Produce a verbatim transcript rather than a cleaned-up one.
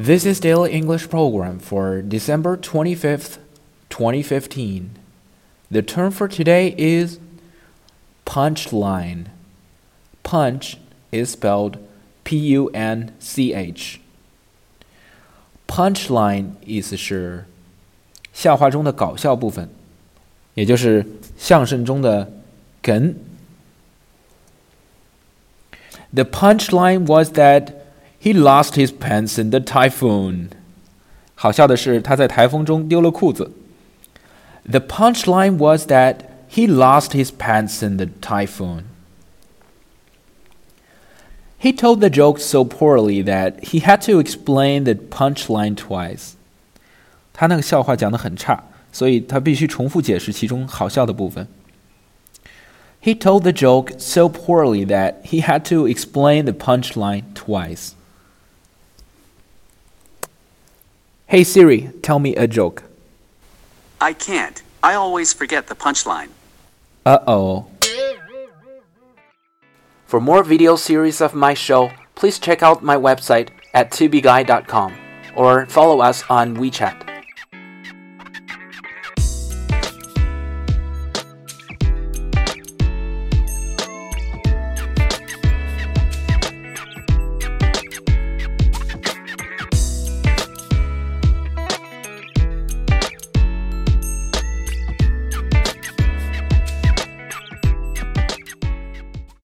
This is Daily English Program for December twenty-fifth, twenty fifteen. The term for today is punchline. Punch is spelled P U N C H. Punchline 意思是笑话中的搞笑部分，也就是相声中的梗。The punchline was that he lost his pants in the typhoon. 好笑的是，他在台风中丢了裤子。The punchline was that he lost his pants in the typhoon. He told the joke so poorly that he had to explain the punchline twice. 他那个笑话讲得很差，所以他必须重复解释其中好笑的部分。He told the joke so poorly that he had to explain the punchline twice. Hey Siri, tell me a joke. I can't. I always forget the punchline. Uh-oh. For more video series of my show, please check out my website at tubeguy dot com or follow us on WeChat.